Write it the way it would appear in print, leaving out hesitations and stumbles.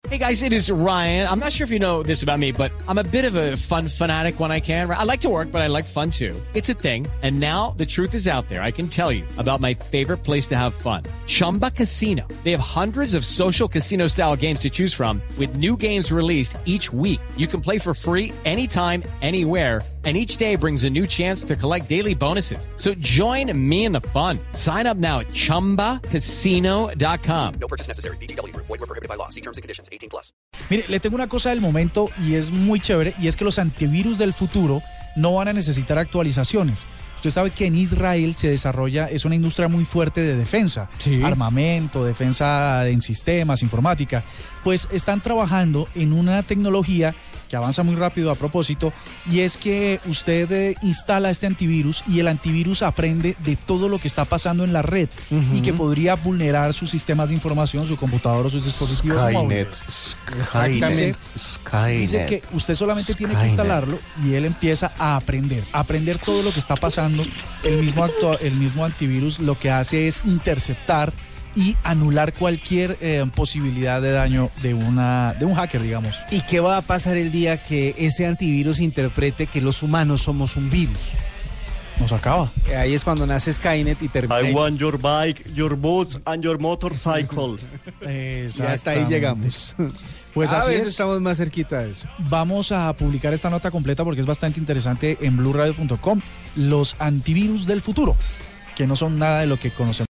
Hey guys, it is Ryan. I'm not sure if you know this about me, but I'm a bit of a fun fanatic when I can. I like to work, but I like fun too. It's a thing. And now the truth is out there. I can tell you about my favorite place to have fun. Chumba Casino. They have hundreds of social casino style games to choose from with new games released each week. You can play for free anytime, anywhere. And each day brings a new chance to collect daily bonuses. So join me in the fun. Sign up now at ChumbaCasino.com. No purchase necessary. VGW Group. Void where prohibited by law. See terms and conditions. 18+. Mire, le tengo una cosa del momento y es muy chévere, y es que los antivirus del futuro no van a necesitar actualizaciones. Usted sabe que en Israel se desarrolla, es una industria muy fuerte de defensa, sí, armamento, defensa en sistemas, informática. Pues están trabajando en una tecnología que avanza muy rápido a propósito, y es que usted instala este antivirus y el antivirus aprende de todo lo que está pasando en la red y que podría vulnerar sus sistemas de información, su computador o sus dispositivos móviles. Skynet. Dice que usted solamente tiene que instalarlo y él empieza a aprender todo lo que está pasando. El mismo antivirus lo que hace es interceptar y anular cualquier posibilidad de daño de un hacker, digamos. ¿Y qué va a pasar el día que ese antivirus interprete que los humanos somos un virus? Nos acaba. Ahí es cuando nace Skynet y termina. I want your bike, your boots and your motorcycle. Y hasta ahí llegamos. Pues a así veces es. estamos más cerquita de eso. Vamos a publicar esta nota completa porque es bastante interesante en BluRadio.com. Los antivirus del futuro, que no son nada de lo que conocemos.